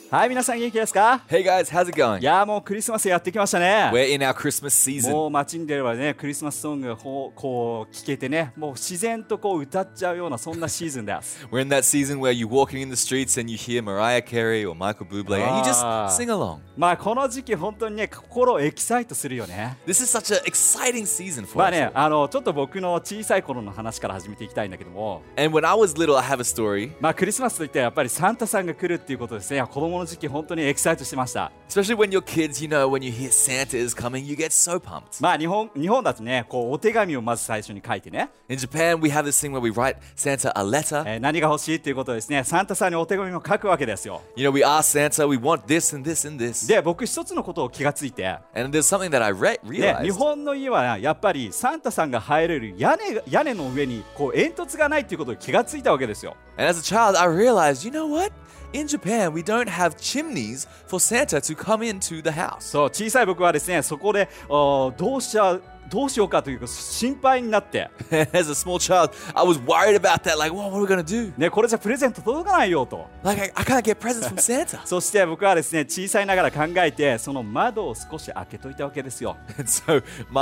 はい、皆さん元気ですか？ Hey guys, how's it going? いやもうクリスマスやってきましたね。 We're in our Christmas season. もう街に出ればね、クリスマスソングがこう聴けてね、もう自然とこう歌っちゃうようなそんなシーズンです。 We're in that season where you're walking in the streets and you hear Mariah Carey or Michael Bublé and you just sing along. まあこの時期本当にね、心をエキサイトするよね。 This is such an exciting season for まあ us. ね、ちょっと僕の小さい頃の話から始めていきたいんだけども、 And when I was little, I have a story. まあクリスマスといってやっぱりサンタさんが来るっていうことですね。子供の時期本当にエキサイトしてました。 Especially when you're kids, you know, when you hear Santa is coming, you get so pumped. まあ日本だとね、こうお手紙をまず最初に書いてね、 In Japan, we have this thing where we write Santa a letter. 何が欲しいっていうことですね、サンタさんにお手紙を書くわけですよ。 You know, we ask Santa, we want this and this and this. で、僕一つのことを気がついて、 And there's something that I で、日 realized. 本の家はやっぱりサンタさんが入れる屋根の上にこう煙突がないっていうことに気がついたわけですよ。 And as a child, I realized, you know what? In Japan, we don't have chimneys for Santa to come into the house. そう、小さい僕はですね、そこでどうしようかというか心配になって、 As a small child, I was worried about that. Like, what are we going to do? ね、これじゃプレゼント届かないよと。 Like, I can't get presents from Santa. そして僕はですね、小さいながら考えて、その窓を少し開けといたわけですよ。 And so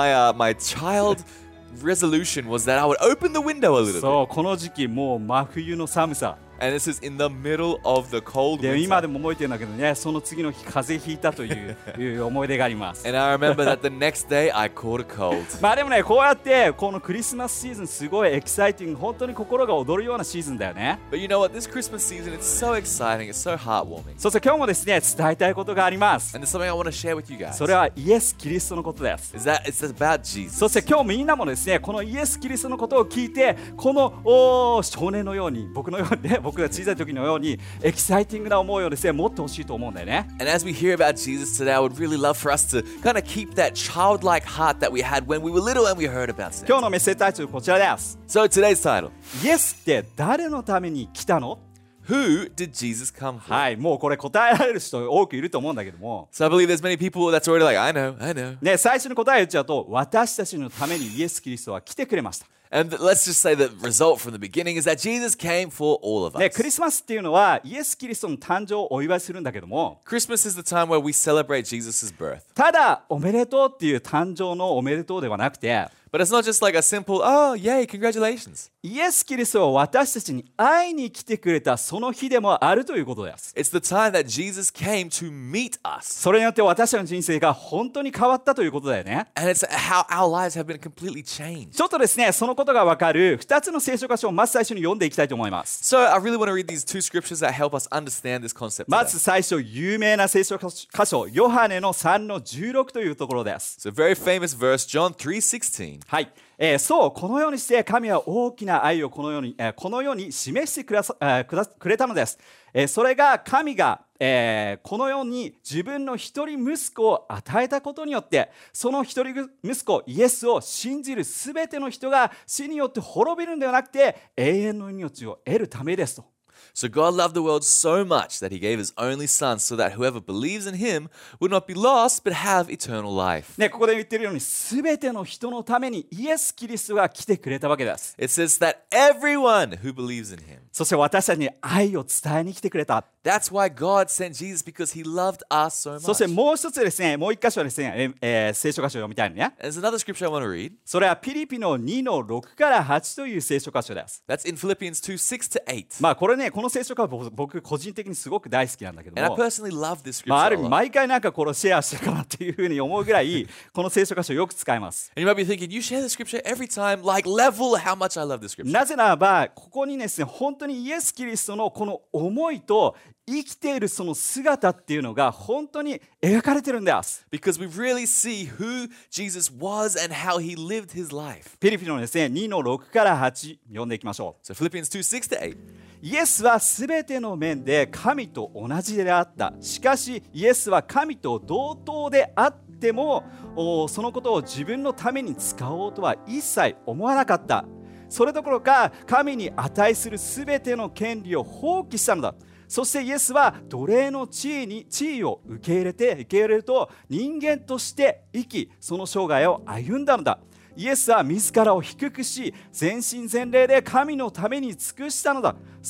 my child resolution was that I would open the window a little bit. そう、この時期もう真冬の寒さ。 And this is in the middle of the cold で、今で winter. も覚えてるんだけどね、その次の日風邪ひいたという思い出があります。 And I remember that the next day I caught a cold. まあでもね、こうやってこのクリスマスシーズンすごいエキサイティング、本当に心が躍るようなシーズンだよね。 But you know what? This Christmas season, it's so exciting. It's so heartwarming. そして今日もですね、伝えたいことがあります。 And there's something I want to share with you guys. それはイエス・キリストのことです。 Is that it's about Jesus. そして今日みんなもですね、このイエス・キリストのことを聞いて、この少年のように、僕のようにね、僕が小さい時のようにエキサイティングな思いをですね、持ってほしいと思うんだよね。 And as we hear about Jesus today, I would really love for us to kind of keep that childlike heart that we had when we were little and we heard about 今 Santa. 日のメッセージタイトルこちらです。 So today's title, イエスって誰のために来たの？ Who did Jesus come for? はい、もうこれ答えられる人多くいると思うんだけども、 So I believe there's many people that's already like, I know. ね、最初に答え言っちゃうと、私たちのためにイエス・キリストは来てくれました。 And let's just say the result from the beginning is that Jesus came for all of ね、 us. クリスマスっていうのはイエス・キリストの誕生をお祝いするんだけども、 Christmas is the time where we celebrate Jesus' birth. ただおめでとうっていう誕生のおめでとうではなくて、 But it's not just like a simple, oh, yay, congratulations. イエス・キリストは私たちに会いに来てくれたその日でもあるということです。 It's the time that Jesus came to meet us. それによって私たちの人生が本当に変わったということだよね。 And it's how our lives have been completely changed. ちょっとですね、そのことがわかる2つの聖書箇所をまず最初に読んでいきたいと思います。 So I really want to read these two scriptures that help us understand this concept ま today. ず最初、有名な聖書箇所、ヨハネの3の16というところです。 It's a very famous verse, John 3:16. はい、そう、このようにして神は大きな愛をこのように示してくれたのです。それが神が、このように自分の一人息子を与えたことによって、その一人息子イエスを信じるすべての人が死によって滅びるのではなくて永遠の命を得るためですと。 So God loved the world so much that he gave his only son so that whoever believes in him would not be lost but have eternal life. ね、ここで言っているようにすべての人のためにイエス・キリストが来てくれたわけです。 It says that everyone who believes in him. そして私たちに愛を伝えに来てくれた。 That's why God sent Jesus, because he loved us so そして much. もう一つですね、もう一箇所ですね、聖書箇所を読みたいのね。 There's another scripture I want to read. それはピリピの2の6から8という聖書箇所です。 That's in Philippians 2:6-8. まあこれね、この聖書箇所僕個人的にすごく大好きなんだけど And I も、 personally love this まあ、あ scripture る a 意味 lot. 毎回なんかこれをシェアしてるかなっていうふうに思うぐらいこの聖書箇所をよく使います。 And you might be thinking, you share the scripture every time, like level how much I love this scripture. なぜならばここにですね、本当にイエス・キリストのこの思いと生きているその姿っていうのが本当に描かれてるんです。 Because we really see who Jesus was and how he lived his life. ピリピのですね、2の6から8読んでいきましょう。 So Philippians 2:6-8. イエスはすべての面で神と同じであった。しかしイエスは神と同等であってもそのことを自分のために使おうとは一切思わなかった。それどころか神に値するすべての権利を放棄したのだ。そしてイエスは奴隷の地位を受け入れると人間として生き、その生涯を歩んだのだ。イエスは自らを低くし、全身全霊で神のために尽くしたのだ。そう、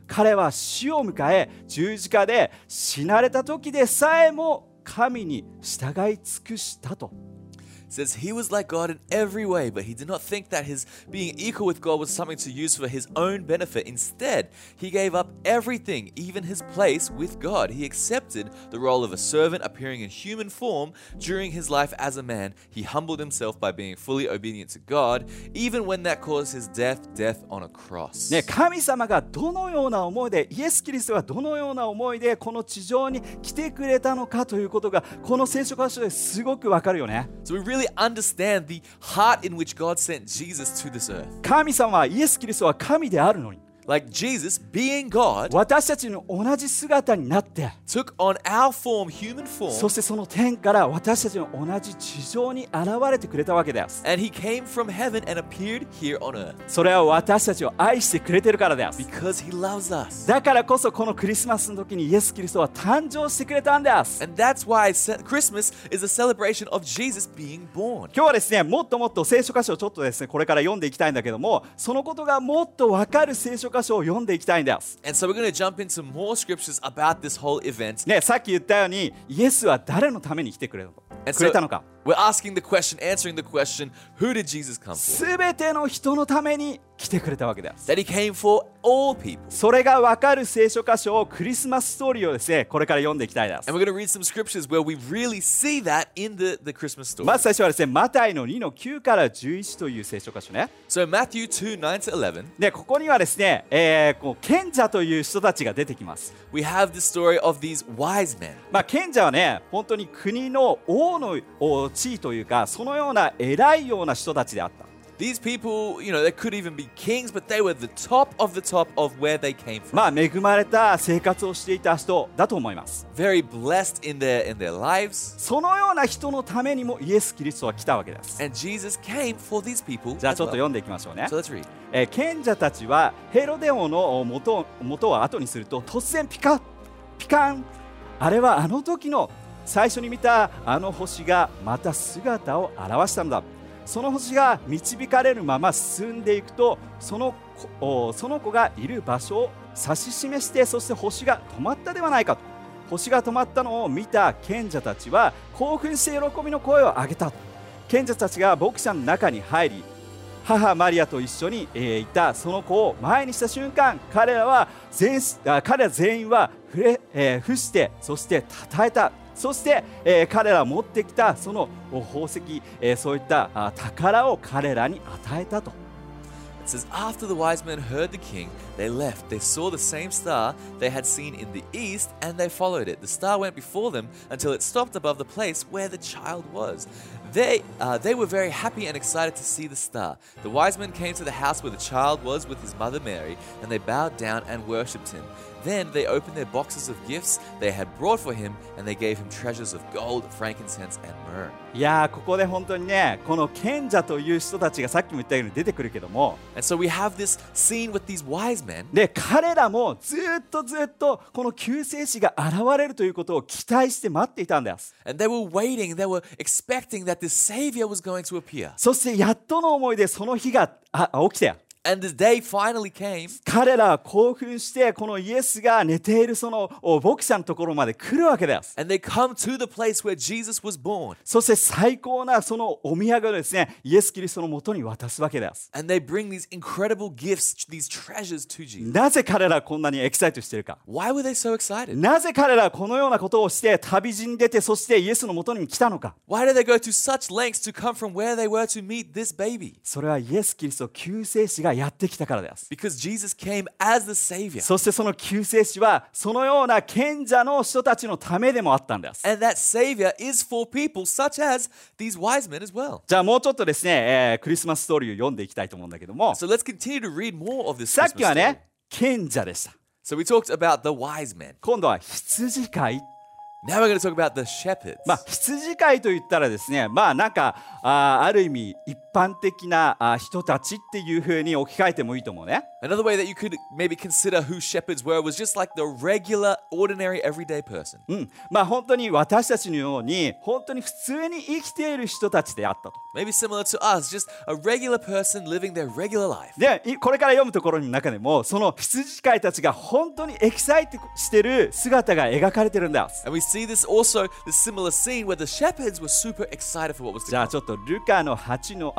彼は死を迎え十字架で死なれた時でさえも神に従い尽くしたと。 It says he was like God in every way, but he did not think that his being equal with God was something to use for his own benefit. Instead, he gave up everything, even his place with God. He accepted the role of a servant, appearing in human form. During his life as a man, he humbled himself by being fully obedient to God, even when that caused his death on a cross. ね、神様がどのような思いで、イエス・キリストがどのような思いでこの地上に来てくれたのかということがこの聖書箇所ですごくわかるよね。 So we really understand the heart in which God sent Jesus to this earth. 神様はイエス・キリストは神であるのに、 Like Jesus, being God, 私たちの同じ姿になって、 took on our form, human そ form, してその天から私たちの同じ地上に現れてくれたわけです。 and he came from heaven and appeared here on earth それは私たちを愛してくれてるからです。 because he loves us. だからこそこのクリスマスの時にイエス・キリストは誕生してくれたんです。 And that's why Christmas is a celebration of Jesus being born. 今日はですね、もっともっと聖書箇所をちょっとですね、これから読んでいきたいんだけども、そのことがもっと分かる聖書箇所を読んでいきたいんです。 And so we're going to jump into more scriptures about this whole event. ね、さっき言ったように、イエスは誰のために来てくれたのか。 We're asking the question, answering the question, who did Jesus come for? すべての人のために来てくれたわけです。 That he came for all people. それが分かる聖書箇所をクリスマスストーリーをですね、これから読んでいきたいです。 And we're going to read some scriptures where we really see that in the Christmas story. まず最初はですね、マタイの2の9から11という聖書箇所ね。 So Matthew 2, 9 to 11, で、ここにはですね、こう賢者という人たちが出てきます。 we have the story of these wise men. 賢者はね、本当に国の王の地位というか、そのような偉いような人たちであった。 These people, they could even be kings, but they were the top of where they came from. 恵まれた生活をしていた人だと思います。 Very blessed in their lives. そのような人のためにもイエス・キリストは来たわけです。 And Jesus came for these people じゃあ as ちょっと well. 読んでいきましょうね。 So let's read. 賢者たちはヘロデ王の元を後にすると突然ピカン、あれはあの時の最初に見たあの星がまた姿を現したのだ。その星が導かれるまま進んでいくとその子がいる場所を指し示して、そして星が止まったではないかと。星が止まったのを見た賢者たちは興奮して喜びの声を上げた。賢者たちが牧者の中に入り、母マリアと一緒にいたその子を前にした瞬間、彼ら全員は伏して、そして称えた。そして、彼らが持ってきたその宝石、そういった宝を彼らに与えたと。 It says, after the wise men heard the king, they left. They saw the same star they had seen in the east, and they followed it. The star went before them until it stopped above the place where the child was. They were very happy and excited to see the star. The wise men came to the house where the child was with his mother Mary, and they bowed down and worshipped him. Then they opened their boxes of gifts they had brought for him, and they gave him treasures of gold, frankincense, and myrrh. いやー、ここで本当にね、この賢者という人たちがさっきも言ったように出てくるけども、 And so we have this scene with these wise men. で彼らもずっとこの救世主が現れるということを期待して待っていたんです。 And they were waiting, they were expecting that this Savior was going to appear. そしてやっとの思いでその日が起きて、 And the day finally came. 彼らは興奮してこのイエスが寝ているその牧者のところまで来るわけです。 And they come to the place where Jesus was born. そして最高なそのお土産をですね、イエス・キリストのもとに渡すわけです。 And they bring these incredible gifts, these treasures to Jesus. なぜ彼らはこんなにエキサイトしているか。 Why were they so excited? なぜ彼らはこのようなことをして旅路に出て、そしてイエスのもとに来たのか。 Why did they go to such lengths to come from where they were to meet this baby? それはイエス・キリスト救世主がやってきたからです。 Because Jesus came as the Savior. そしてその救世主はそのような賢者の人たちのためでもあったんです。 And that Savior is for people such as these wise men as well. じゃあもうちょっとですね、クリスマスストーリーを読んでいきたいと思うんだけども、 So let's continue to read more of this さっ Christmas きは story. ね、賢者でした。 So we talked about the wise men. 今度は羊飼い。 Now we're going to talk about the shepherds. 羊飼いといったらですね、なんかある意味一般的な人たちっていう風に置き換えてもいいと思うね。 Another way that you could maybe consider who shepherds were was just like the regular, ordinary, everyday person. 本当に私たちのように本当に普通に生きている人たちであったと。 Maybe similar to us, just a regular person living their regular life. で、これから読むところの中でもその羊飼いたちが本当にエキサイトしている姿が描かれてるんです。 And we see this also, this similar scene where the shepherds were super excited for what was to じゃあ come. ちょっとルカの8の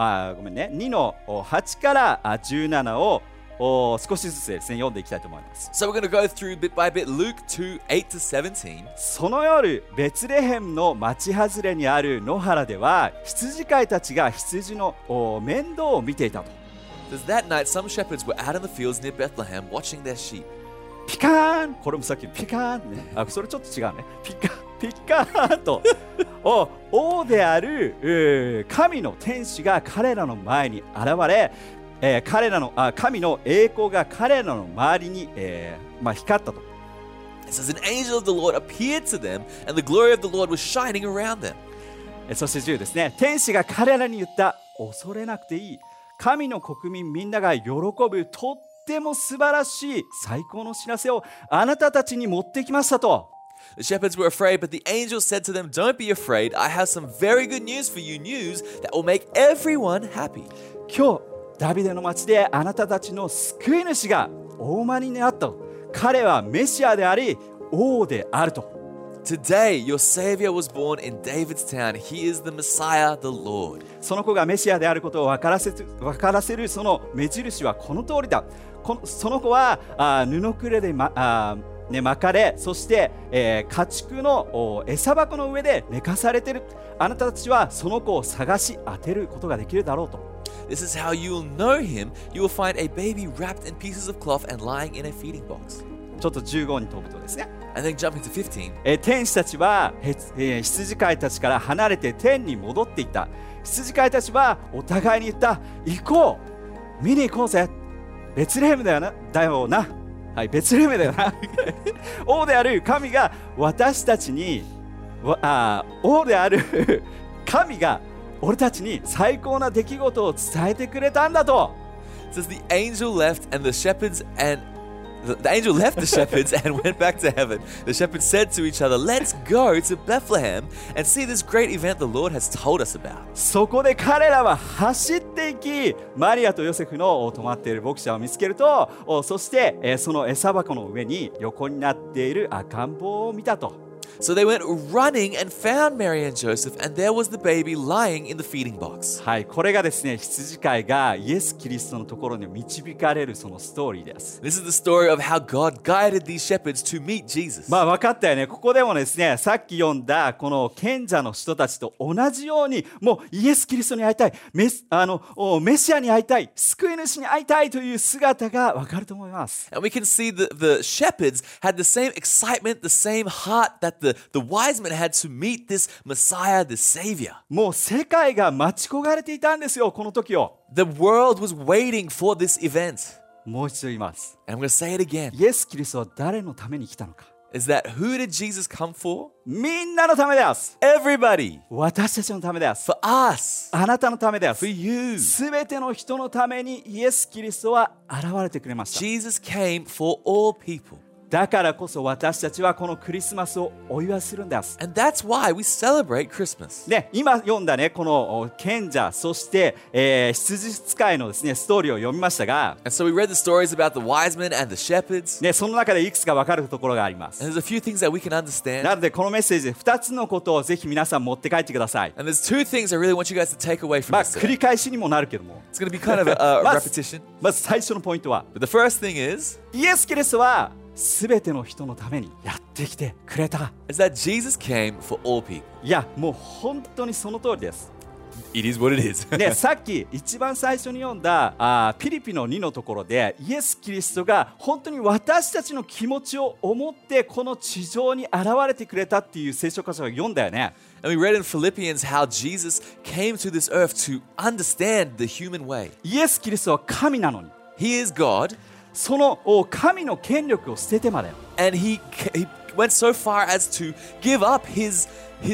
2の8から17を少しずつですね読んでいきたいと思います。 So we're going to go through bit by bit Luke 2, 8 to 17. その夜ベツレヘムの町外れにある野原では羊飼いたちが羊の面倒を見ていたと。 It says that night some shepherds were out in the fields near Bethlehem watching their sheep. ピカーン、これもさっきピカーンね、それちょっと違うね。ピカーンと王である神の天使が彼らの前に現れ、神の栄光が彼らの周りに、光ったと。 It says an angel of the Lord appeared to them, and the glory of the Lord was shining around them. そして10ですね。天使が彼らに言った。恐れなくていい。神の国民みんなが喜ぶとっても素晴らしい最高の知らせをあなたたちに持ってきましたと。 The shepherds were afraid, but the angel said to them, Don't be afraid. I have some very good news for you, news that will make everyone happy. 今日ダビデの町であなたたちの救い主がお生まれになったと。彼はメシアであり王であると。 Today, your Savior was born in David's town. He is the Messiah, the Lord. その子がメシアであることを分からせるその目印はこの通りだ。その子は布くれで巻かれ、そして、家畜の餌箱の上で寝かされている。あなたたちはその子を探し当てることができるだろうと。 This is how you will know him. You will find a baby wrapped in pieces of cloth and lying in a feeding box. ちょっと15に飛ぶとですね。 And then jumping to 15. 天使たちは羊飼いたちから離れて天に戻っていった。羊飼いたちはお互いに言った。行こう、見に行こうぜ。ベツレヘムだよな。はい、ベツレヘムだよな。王である神が私たちに王である神が俺たちに最高な出来事を伝えてくれたんだと。 It says the angel left and the shepherds and the angel left the shepherds and went back to heaven. The shepherds said to each other, Let's go to Bethlehem and see this great event the Lord has told us about. そこで彼らは走っていき、マリアとヨセフの泊まっている牧者を見つけると、そしてその餌箱の上に横になっている赤ん坊を見たと。 So they went running and found Mary and Joseph, and there was the baby lying in the feeding box. はい、これがですね、羊飼いがイエス・キリストのところに導かれるそのストーリーです。 This is the story of how God guided these shepherds to meet Jesus. 分かったよね。ここでもですね、さっき読んだこの賢者の人たちと同じように、もうイエス・キリストに会いたい、メシアに会いたい、救い主に会いたいという姿がわかると思います。 And we can see the shepherds had the same excitement, the same heart that the wise men had to meet this Messiah, this Savior. もう世界が待ち焦がれていたんですよ、この時を。 The world was waiting for this event. もう一度言います。 And I'm going to say it again. イエス・キリストは誰のために来たのか。 Is that who did Jesus come for? みんなのためです。 Everybody. 私たちのためです。 For us. あなたのためです。 For you. すべての人のためにイエス・キリストは現れてくれました。 Jesus came for all people. だからこそ私たちはこのクリスマスをお祝いするんです。 And that's why we celebrate Christmas. ね、今読んだね、この賢者、そして、羊使いのですね、ストーリーを読みましたが、 And so we read the stories about the wise men and the shepherds. ね、その中でいくつか分かるところがあります。 And there's a few things that we can understand. なのでこのメッセージで2つのことをぜひ皆さん持って帰ってください。 And there's two things I really want you guys to take away from this 繰り today. 返しにもなるけども、 It's going to be kind of a まず repetition. まず最初のポイントは、 But the first thing is イエス・キリストはすべての人のためにやってきてくれた。 that Jesus came for all people. いや、もう本当にその通りです。 It is what it is. ね、さっき一番最初に読んだピリピの2のところでイエス・キリストが本当に私たちの気持ちを思ってこの地上に現れてくれたっていう聖書箇所を読んだよね。 And we read in Philippians how Jesus came to this earth to understand the human way. イエス・キリストは神なのに、 He is God, その神の権力を捨ててまで and he went so far as to give up his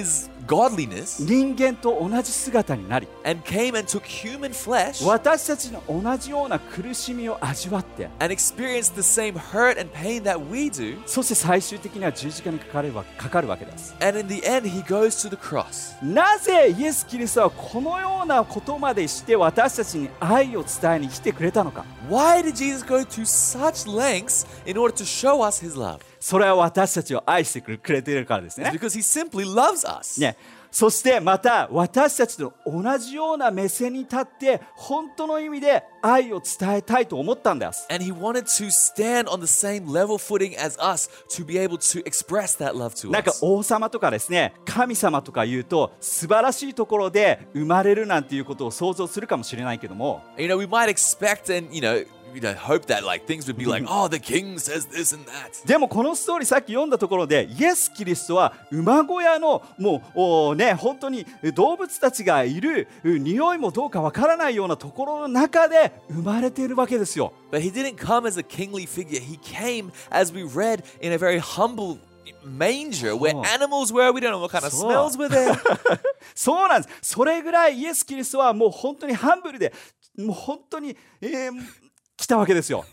godliness 人間と同じ姿になり、 and came and took human flesh 私たちの同じような苦しみを味わって、 and experienced the same hurt and pain that we do. そして最終的には十字架にかかるわけです。 And in the end, he goes to the cross. なぜイエス・キリストはこのようなことまでして私たちに愛を伝えに来てくれたのか。 Why did Jesus go to such lengths in order to show us his love? それは私たちを愛してくれているからですね。 It's because he simply loves us. ね、そしてまた私たちと同じような目線に立って本当の意味で愛を伝えたいと思ったんです。 And he wanted to stand on the same level footing as us to be able to express that love to なんか us. 王様とかですね、神様とか言うと素晴らしいところで生まれるなんていうことを想像するかもしれないけども、 You know, we might expect and, hope that like things would be like, oh, the king says this and that. でもこのストーリーさっき読んだところでイエス・キリストは馬小屋のもうね、本当に動物たちがいる匂いもどうかわからないようなところの中で生まれているわけですよ。 But he didn't come as a kingly figure. He came, as we read, in a very humble manger where animals were. We don't know what kind of smells were there. そうなんです。それぐらいイエス・キリストはもう本当にハンブルでもう本当に、来たわけですよ。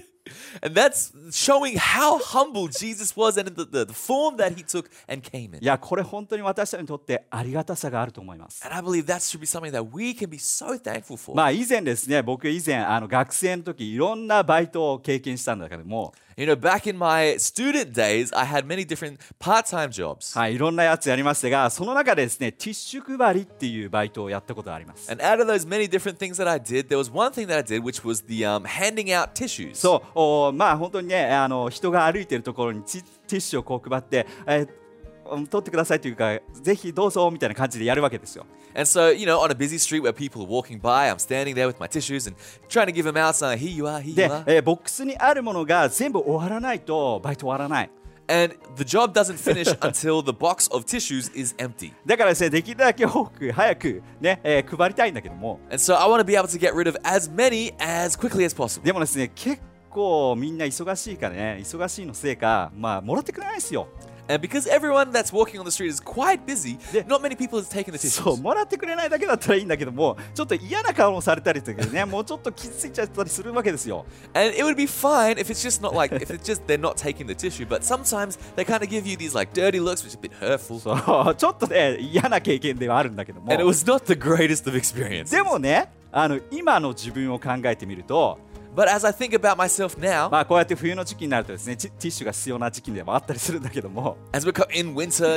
And that's showing how humble Jesus was and the form that he took and came in. いや、これ本当に私たちにとってありがたさがあると思います。 And I believe that should be something that we can be so thankful for. まあ以前ですね、僕以前学生の時いろんなバイトを経験したんだけども、 You know, back in my student days, I had many different part-time jobs. はい、いろんなやつやりましたが、その中でですね、ティッシュ配りっていうバイトをやったことがあります。 And out of those many different things that I did, there was one thing that I did, which was the handing out tissues. そう、まあ本当にね、人が歩いてるところにティッシュをこう配って、取ってくださいというか、ぜひどうぞみたいな感じでやるわけですよ。 And so, on a busy street where people are walking by, I'm standing there with my tissues and trying to give them out, saying, here you are, here you are. で、ボックスにあるものが全部終わらないとバイト終わらない。 And the job doesn't finish until the box of tissues is empty. だからですね、できるだけ多く早くね、配りたいんだけども、 And so I want to be able to get rid of as many as quickly as possible. でもですね、結構みんな忙しいからね、忙しいのせいか、まあもらってくれないですよ。 And because everyone that's walking on the street is quite busy, not many people have taken the そう、 tissues. もらってくれないだけだったらいいんだけども、ちょっと嫌な顔をされたりとかね、もうちょっと傷ついちゃったりするわけですよ。 And it would be fine if it's just not like, if it's just they're not taking the tissue, but sometimes they kind of give you these like dirty looks, which is a bit hurtful. そう、ちょっとね、嫌な経験ではあるんだけども。 And it was not the greatest of experiences. でもね、今の自分を考えてみると、 But as I think about myself now, まあこうやって冬の時期になるとですね、ティッシュが必要な時期でもあったりするんだけども、 as we're in winter,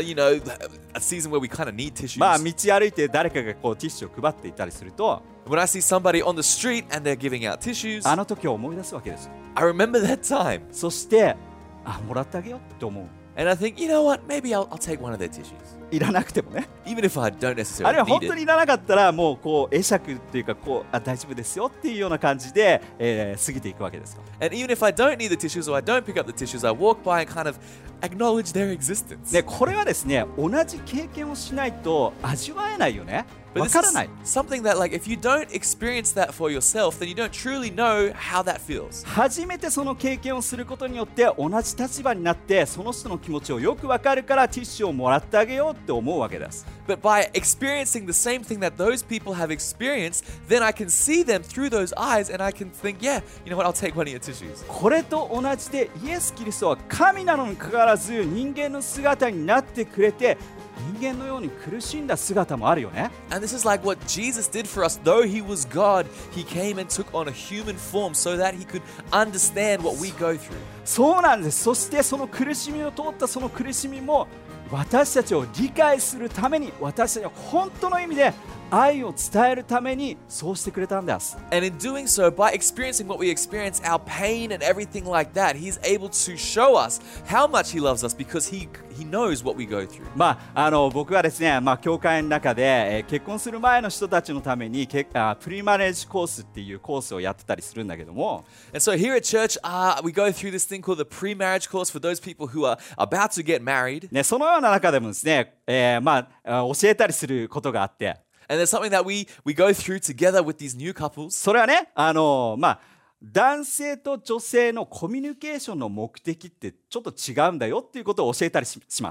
a season where we kind of need tissues. まあ道歩いて誰かがこうティッシュを配っていたりすると、 When I see somebody on the street and they're giving out tissues, あの時を思い出すわけですよ。 I remember that time. そして、もらってあげようって思う。 And I think, you know what, maybe I'll take one of their tissues. いらなくてもね。 Even if I don't あるい necessarily は本 need 当 it. にいらなかったらもうこう会釈っていうかこう大丈夫ですよっていうような感じで、過ぎていくわけですよ。 And even if I don't need the tissues or I don't pick up the tissues, I walk by and kind of acknowledge their existence. でこれはですね、同じ経験をしないと味わえないよね。 But わ this からない。 is something that, like, if you don't experience that for yourself, then you don't truly know how that feels. 初めてその経験をすることによって同じ立場になってその人の気持ちをよくわかるからティッシュをもらってあげようって思うわけです。 But by experiencing the same thing that those people have experienced, then I can see them through those eyes and I can think, yeah, you know what, I'll take one of your tissues. これと同じでイエス・キリストは神なのにかかわらず人間の姿になってくれて人間のように苦しんだ姿もあるよね。 And this is like what Jesus did for us. Though he was God, he came and took on a human form so that he could understand what we go through. そうなんです。そしてその苦しみを通ったその苦しみも私たちを理解するために、私たちは本当の意味で愛を伝えるためにそうしてくれたんです。 And in doing so, by experiencing what we experience, our pain and everything like that, he's able to show us how much he loves us because he knows what we go through. まあ、僕はですね、教会の中で、結婚する前の人たちのためにプリマレージコースっていうコースをやってたりするんだけども、 And so here at church, we go through this thing called the pre-marriage course for those people who are about to get married. ね、そのような中でもですね、教えたりすることがあって、 And there's something that we go through together with these new couples. それはね、男性と女性のコミュニケーションの目的ってちょっと違うんだよっていうことを教えたりします。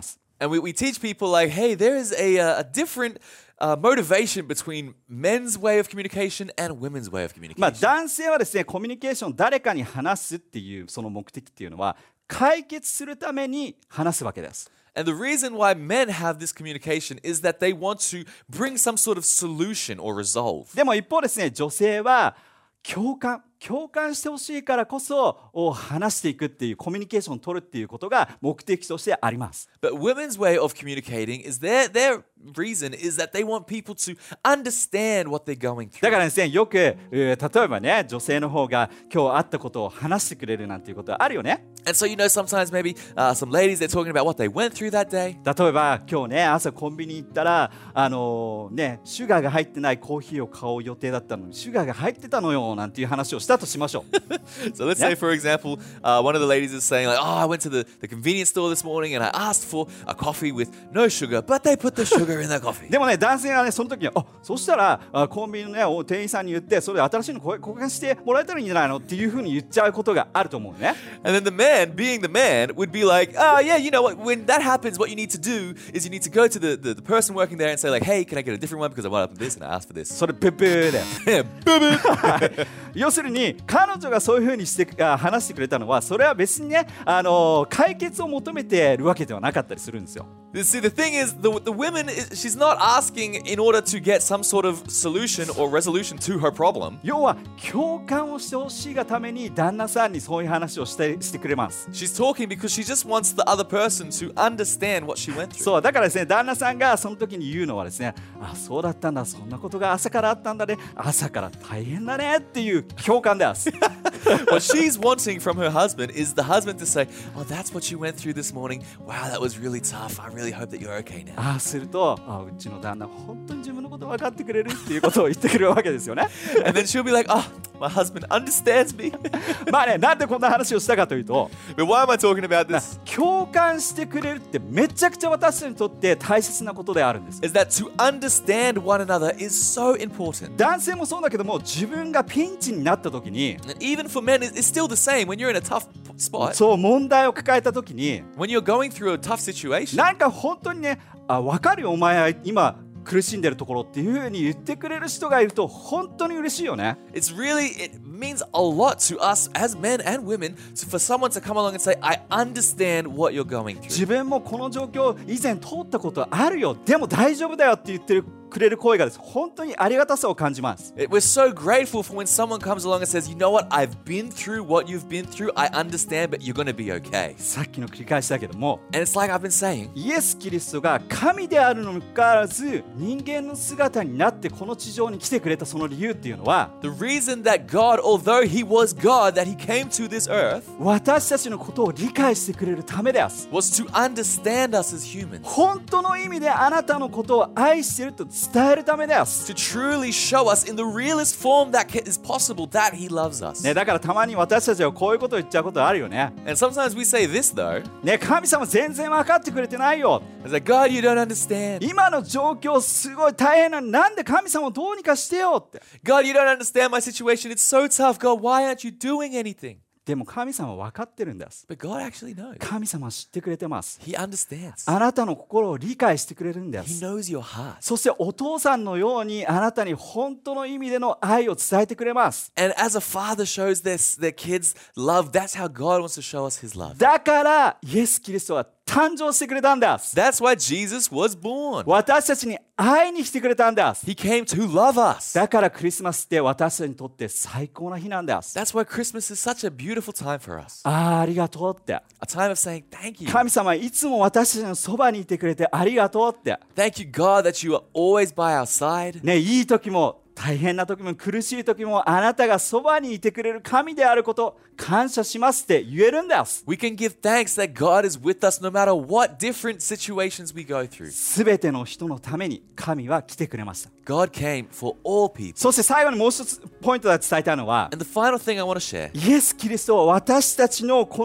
And we teach people like, hey, there is a different motivation between men's way of communication and women's way of communication. 男性はですね、コミュニケーション誰かに話すっていうその目的っていうのは解決するために話すわけです。 And the reason why men have this communication is that they want to bring some sort of solution or resolve. でも一方ですね、女性は共感してほしいからこそ話していくっていうコミュニケーションを取るっていうことが目的としてあります。 But women's way of communicating is their reason is that they want people to understand what they're going through. だからですね、よく例えばね、女性の方が今日あったことを話してくれるなんていうことはあるよね。 And so sometimes maybe some ladies they're talking about what they went through that day. 例えば今日ね、朝コンビニ行ったらシュガーが入ってないコーヒーを買う予定だったのにシュガーが入ってたのよなんていう話をしたとしましょう。 So let's say, for example, one of the ladies is saying like, oh, I went to the convenience store this morning and I asked for a coffee with no sugar, but they put the sugar in the coffee. でもね、男性がね、その時にそしたらコンビニの、ね、店員さんに言ってそれで新しいの交換してもらえたらいいんじゃないのっていうふうに言っちゃうことがあると思うね。 And then the man, being the man, would be like, oh, yeah, you know what, when that happens, what you need to do is you need to go to the person working there and say like, hey, can I get a different one because I want this and I asked for this. それブブーだよ。 ブブ要するに彼女がそういうふうにして話してくれたのはそれは別にね、解決を求めているわけではなかったりするんですよ。 See, the thing is, the woman, she's not asking in order to get some sort of solution or resolution to her problem. 要は共感をしてほしいがために旦那さんにそういう話をしてくれます。 She's talking because she just wants the other person to understand what she went through. そうだからですね、旦那さんがその時に言うのはですね、そうだったんだ、そんなことが朝からあったんだね、朝から大変だねっていう共感です。 What she's wanting from her husband is the husband to say, oh, that's what you went through this morning. Wow, that was really tough. I really hope that you're okay now. するとうちの旦那本当に自分のこと分かってくれるっていうことを言ってくれるわけですよね。 And then she'll be like, oh, my husband understands me. なんでこんな話をしたかというと、 But why am I talking about this? 共感してくれるってめちゃくちゃ私たちにとって大切なことであるんです。 Is that to understand one another is so important. 男性もそうだけども、自分がピンチになった時に、 And even for men, it's still the same. When you're in a tough spot, そう問題を抱えた時に、 when you're going through a tough situation, なんか本当にね、分かるよお前は今苦しんでるところっていう風に言ってくれる人がいると本当に嬉しいよね。 it means a lot to us as men and women for someone to come along and say, I understand what you're going through. 自分もこの状況以前通ったことあるよ、でも大丈夫だよって言ってくれる声がです、本当にありがたさを感じます。 We're so grateful for when someone comes along and says, you know what, I've been through what you've been through, I understand, but you're going to be okay. さっきの繰り返しだけども、 And it's like I've been saying, イエス・キリストが神であるのにかかわらず人間の姿になってこの地上に来てくれたその理由っていうのは、 the reason that God, although He was God, that He came to this earth 私たちのことを理解してくれるためです。 was to understand us as humans. 本当の意味であなたのことを愛していると伝えるためです。 To truly show us in the realest form that is possible that He loves us. ね、だからたまに私たちはこういうことを言っちゃうことあるよね。 And sometimes we say this though, ね、神様全然分かってくれてないよ。 it's like, God, you don't understand. 今の状況すごい大変なのになんで神様をどうにかしてよって。 God, you don't understand my situation. It's so tough. God, why aren't you doing anything? でも神様は分かってるんです。 But God actually knows. 神様は知ってくれてます。 He understands. あなたの心を理解してくれるんで He す。 knows your heart. そしてお父さんのようにあなたに本当の意味での愛を伝えてくれます。 And as a father shows their kids love, that's how God wants to show us His love. だからイエス・キリストは誕生してくれたんです。 That's why Jesus was born. 私たちに会いに来てくれたんです。 He came to love us. だからクリスマスって私たちにとって最高な日なんです。 That's why Christmas is such a beautiful time for us. ありがとうって。 A time of saying thank you. 神様いつも私たちのそばにいてくれてありがとうって。 Thank you, God, that you are always by our side. ね、いい時も大変な時も苦しい時もあなたがそばにいてくれる神であること感謝しますって言えるんです。 We can give thanks that God is with us no matter what different situations we go through. すべての人のために神は来てくれました。 God came for all people. そして最後にもう一つポイントで伝えたいのは、 And the final thing I want to share イエス・キリストは私たちのこの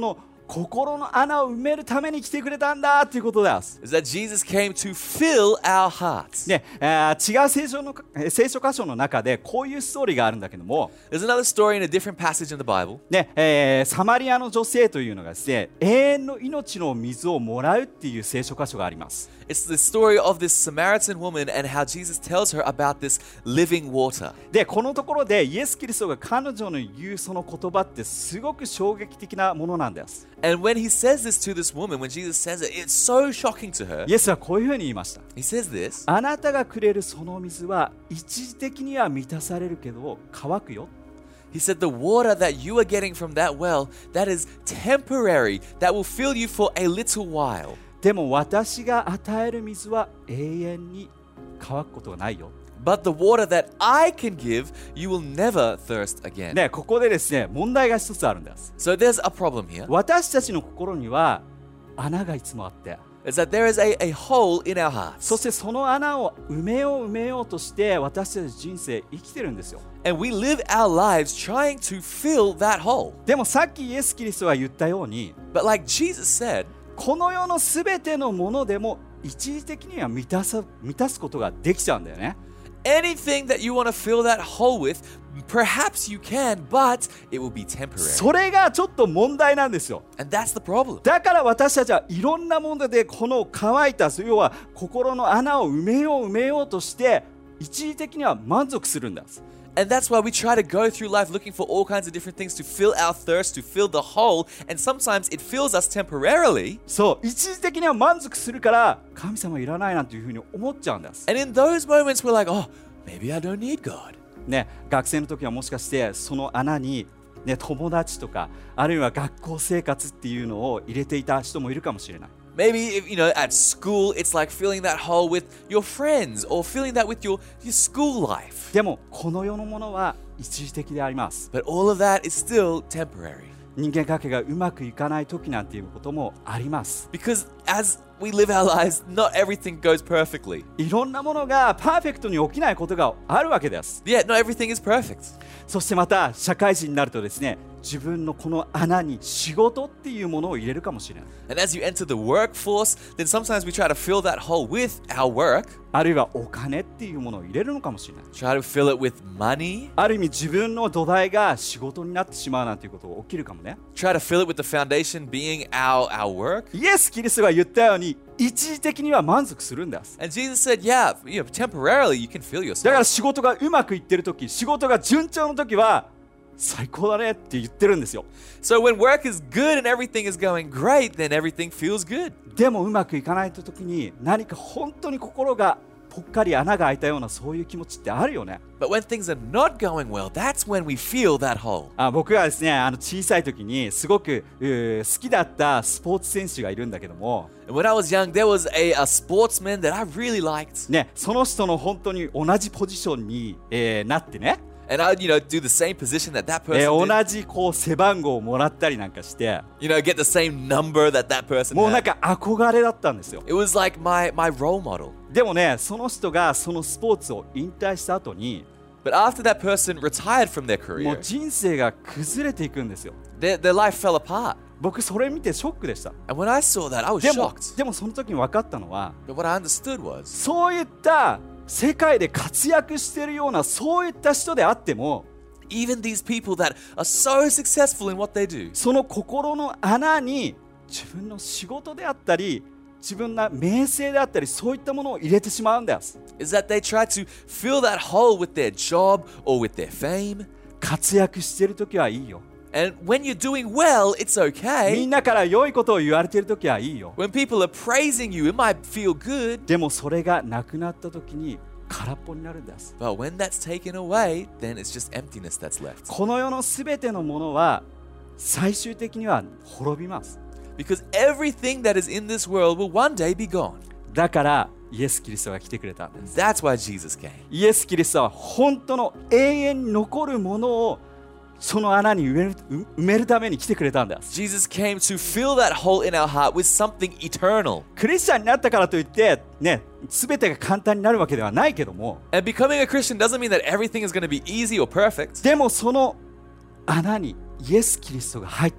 心の穴を埋めるために来てくれたんだということです。 is that Jesus came to fill our hearts. ね、違う聖書箇所の中でこういうストーリーがあるんだけども、 There's another story in a different passage in the Bible. ね、サマリアの女性というのがですね、永遠の命の水をもらうっていう聖書箇所があります。 It's the story of this Samaritan woman and how Jesus tells her about this living water. で、このところでイエス・キリストが彼女の言うその言葉ってすごく衝撃的なものなんです。 And when he says this to this woman, when Jesus says it, it's so shocking to her. イエスはこういうふうに言いました。 He says this. あなたがくれるその水は一時的には満たされるけど乾くよ。 He said, the water that you are getting from that well, that is temporary, that will fill you for a little while. でも私が与える水は永遠に乾くことがないよ。 But the water that I can give, you will never thirst again. ね、ここでですね、問題が一つあるんです。 So there's a problem here. 私たちの心には穴がいつもあって、 Is that there is a hole in our hearts. そしてその穴を埋めようとして私たち人生生きてるんですよ。 And we live our lives trying to fill that hole. でもさっきイエス・キリストが言ったように、 But like Jesus said, この世のすべてのものでも一時的には満たすことができちゃうんだよね。 anything that you want to fill that hole with, perhaps you can, but it will be temporary. それがちょっと問題なんですよ。 And that's the problem. だから私たちはいろんなものでこの乾いた、要は心の穴を埋めようとして一時的には満足するんです。 And that's why we try to go through life looking for all kinds of different things to fill our thirst, to fill the hole, and sometimes it fills us temporarily. そう、一時的には満足するから神様いらないなんていうふうに思っちゃうんです。 And in those moments we're like, oh, maybe I don't need God. ね、学生の時はもしかしてその穴に、ね、友達とかあるいは学校生活っていうのを入れていた人もいるかもしれない。 Maybe, if, at school, it's like filling that hole with your friends or filling that with your school life. でもこの世のものは一時的であります。 But all of that is still temporary. 人間関係がうまくいかない時なんていうこともあります。 Because as we live our lives, not everything goes perfectly. いろんなものがパーフェクトに起きないことがあるわけです。 Yeah, not everything is perfect. そしてまた社会人になるとですね、自分のこの穴に仕事っていうものを入れるかもしれない。 And as you enter the workforce, then sometimes we try to fill that hole with our work. あるいはお金っていうものを入れるのかもしれない。 Try to fill it with money. ある意味自分の土台が仕事になってしまうなんていうことが起きるかもね。 Try to fill it with the foundation being our work. イエス・キリストが言ったように一時的には満足するんです。 And Jesus said, yeah, temporarily you can fill だから yourself. 仕事がうまくいってる時、仕事が順調の時は最高だねって言ってるんですよ。 So when work is good and everything is going great, then everything feels good. でもうまくいかないと時に何か本当に心がぽっかり穴が開いたようなそういう気持ちってあるよね。 But when things are not going well, that's when we feel that hole. 僕がですね、小さい時にすごく好きだったスポーツ選手がいるんだけども、 And when I was young, there was a sportsman that I really liked. ね、その人の本当に同じポジションに、なってね、 And I'd, do the same position that that person 同 did. じこう背番号をもらったりなんかして、 Get the same number that that person もうなん had. か憧れだったんですよ。 It was like my role model. でもね、その人がそのスポーツを引退した後に、 But after that person retired from their もう career, 人生が崩れていくんですよ。 their life fell apart. 僕それ見てショックでした。 And when I saw that, I was でも shocked. その時に分かったのは、 But what I understood was, そういった世界で活躍しているようなそういった人であっても、 even these people that are so successful in what they do, その心の穴に自分の仕事であったり自分の名声であったりそういったものを入れてしまうんです。 is that they try to fill that hole with their job or with their fame. 活躍している時はいいよ。 And when you're doing well, it's み okay. んなから良いことを言われている時はいいよ。 When people are praising you, it might feel good. でもそれがなくなった時に空っぽになるんです。 But when that's taken away, then it's just emptiness that's left. この世のすべてのものは最終的には滅びます。 Because everything that is in this world will one day be gone. だからイエス・キリストが来てくれたんです。 That's why Jesus came. イエス・キリストは本当の永遠に残るものをその穴に埋めるために来てくれたんです。 Jesus came to fill that hole in our heart with something eternal. クリスチャンになったからといってね、全てが簡単になるわけではないけども、 And becoming a Christian doesn't mean that everything is going to be easy or perfect. でもその穴にイエス・キリストが入った時、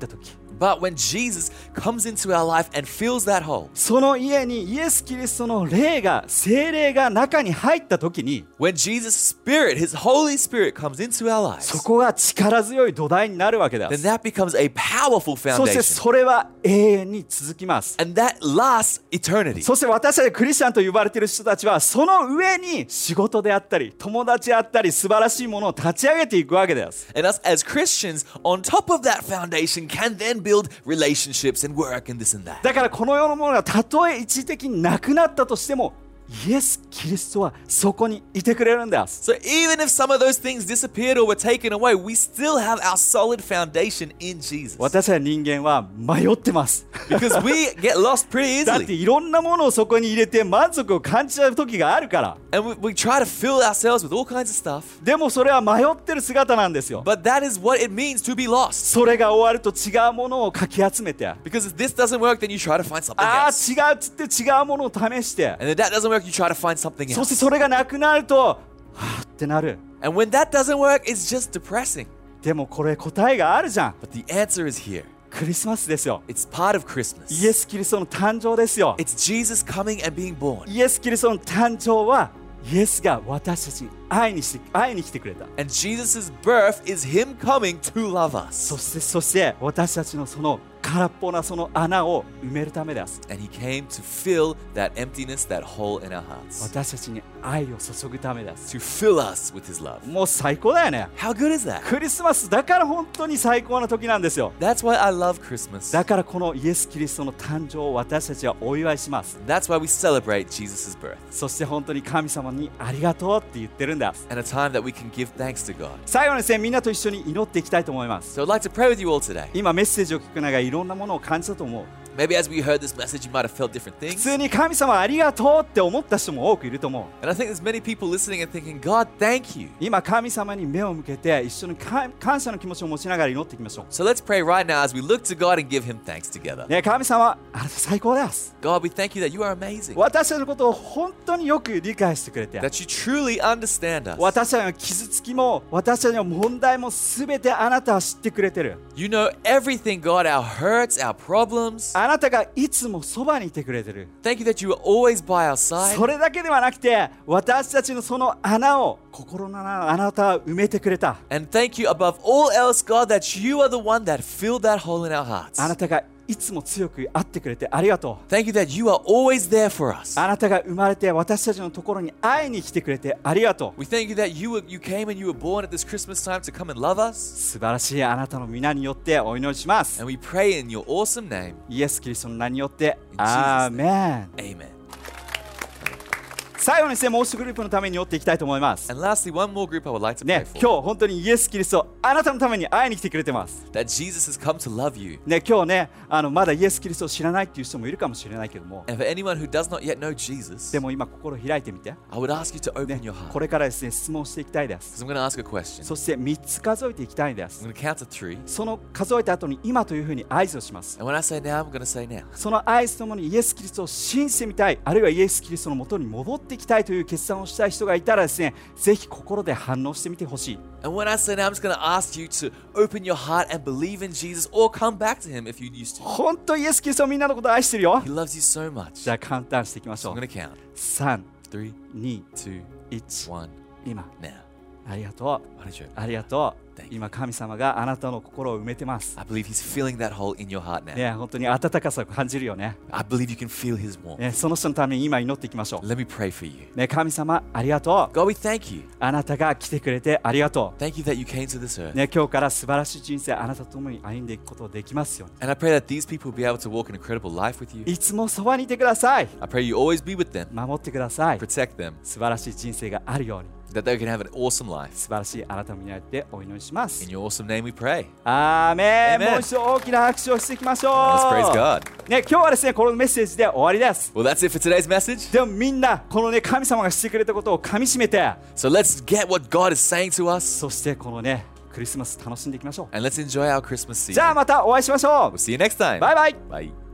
But when Jesus comes into our life and fills that hole, その家にイエス・キリストの霊が、聖霊が中に入った時に、 when Jesus' Spirit, His Holy Spirit comes into our そ lives, こが力強い土台になるわけで then す。 that becomes a powerful そして foundation. それは永遠に続きます。 And that lasts eternity. そして私たちクリスチャンと呼ばれている人たちはその上に仕事であったり友達であったり素晴らしいものを立ち上げていくわけです。 And us as Christians, on top of that foundation, can then build relationships and work and this and that. だからこの世のものがたとえ一時的になくなったとしてもイエス・キリストはそこにいてくれるんです。 So even if some of those things disappeared or were taken away, we still have our solid foundation in Jesus. 私たち人間は迷ってます。 Because we get lost pretty だって easily. いろんなものをそこに入れて満足を感じちゃう時があるから。 And we try to fill ourselves with all kinds of stuff. でもそれは迷ってる姿なんですよ。 But that is what it means to be lost. それが終わると違うものをかき集めて、 Because if this doesn't work, then you try to find something ああ else. 違うっつって違うものを試して、 And if that doesn't work, you try to find something そして else. それがなくなるとはぁってなる。 And when that doesn't work, it's just depressing. でもこれ答えがあるじゃん。 But the answer is here. クリスマスですよ。 It's part of イ Christmas. エス・キリストの誕生ですよ。 It's Jesus coming and being born. イエス・キリストの誕生はイエスが私たちに会いに来てくれた。 And Jesus' birth is Him coming to love us. そして私たちのその空っぽなその穴を埋めるためです。 And He came to fill that emptiness, that hole in our hearts. 私たちに愛を注ぐためです。 To fill us with His love. もう最高だよね。 How good is that? クリスマスだから本当に最高な時なんですよ。 That's why I love Christmas. だからこのイエス・キリストの誕生を私たちはお祝いします。 That's why we celebrate Jesus' birth. そして本当に神様にありがとうって言ってるんです。 And a time that we can give thanks to God. 最後にですね、みんなと一緒に祈っていきたいと思います。 So I'd like to pray with you all today. 今メッセージを聞く中でいろんなものを感じたと思う。 Maybe as we heard this message, you might have felt different 普 things. 通に神様ありがとうって思った人も多くいると思う。 And I think there's many people listening and thinking, God, thank you. 今神様に目を向けて一緒に感謝の気持ちを持ちながら祈っていきましょ So let's pray right now as we look to God and give Him thanks together. う。ね、神様あなた最高です。 God, we thank you that you are amazing. 私たちのことを本当によく理解してくれて、 That you truly understand us. 私たちの傷つきも私たちの問題もすべてあなたは知ってくれてる。 You know everything, God, our hurts, our problems. あなたがいつもそばにいてくれてる。 Thank you that you are always by our side. それだけではなくて私たちのその穴を心の穴をあなたは埋めてくれた。 And thank you above all else, God, that you are the one that filled that hole in our hearts. あなたがいつも強く会ってくれてありがとう。 Thank you that you are always there for us. あなたが生まれて私たちのところに会いに来てくれてありがとう。 We thank you that you came and you were born at this Christmas time to come and love us. 素晴らしいあなたの皆によってお祈りします。 And we pray in your awesome name. イエス・キリストの名によってア Jesus' ーメン。 Amen. 最後にですね、もう一グループのために祈っていきたいと思います。 And lastly, one more group I would like to ね pray、for. 今日本当にイエス・キリストあなたのために会いに来てくれてます。 That Jesus has come to love you. ね、今日ねまだイエス・キリストを知らないっていう人もいるかもしれないけども、 And for anyone who does not yet know Jesus, でも今心を開いてみて、 I would ask you to open your こ heart. れからですね質問していきたいです。 Because I'm going to ask a question. そして3つ数えていきたいんで I'm す。 going to count to 3. その数えた後に今というふうに合図をします。 And when I say now, I'm going to say now. その合図ともにイエス・キリストを信じてみたい、あるいはイエス・キリストのもとに戻っていきたいという決断をしたい人がいたらですね、ぜひ心で反応してみてほしい。 And when I say now, I'm just going to ask you to open your heart and believe in Jesus or come back to Him if you used to. 本当イエス・キリストはみんなのことを愛してるよ。 He loves you so much. じゃあカウントダウンしていきまし So ょ I'm う。 going to count. 3、 3, 2、 2, 1、 1, 今。 now. ありがとう。 What a joke. ありがとう。 Thank you. 今神様があなたの心を埋めてます。 I believe He's filling that hole in your heart now. ね、本当に温かさを感じるよね。 I believe you can feel His warmth. ね、その人のために今祈っていきましょ Let me pray for you. う。ね、神様ありがとう。 God, we thank you. あなたが来てくれてありがと Thank you that you came to this earth. う。ね、今日から素晴らしい人生あなたと共に歩んでいくことができますように。 And I pray that these people will be able to walk an incredible life with you. いつもそばにいてください。 I pray you always be with them, 守ってください。 protect them, 素晴らしい人生があるように。 that they can have an awesome life. 素晴らしいあなたの皆によってお祈りしま In す。 your awesome name we pray. アーメン。 Amen. もう一度大きな拍手をしていきましょう。 Let's praise God. ね、今日はですね、このメッセージで終わりです。 Well, that's it for today's message. でもみんなこのね神様がしてくれたことをかみしめて、 So let's get what God is saying to us そしてこのねクリスマス楽しんでいきましょう。 and let's enjoy our Christmas じゃあ season. またお会いしましょ We'll see you next time. う。バイバイ。 Bye.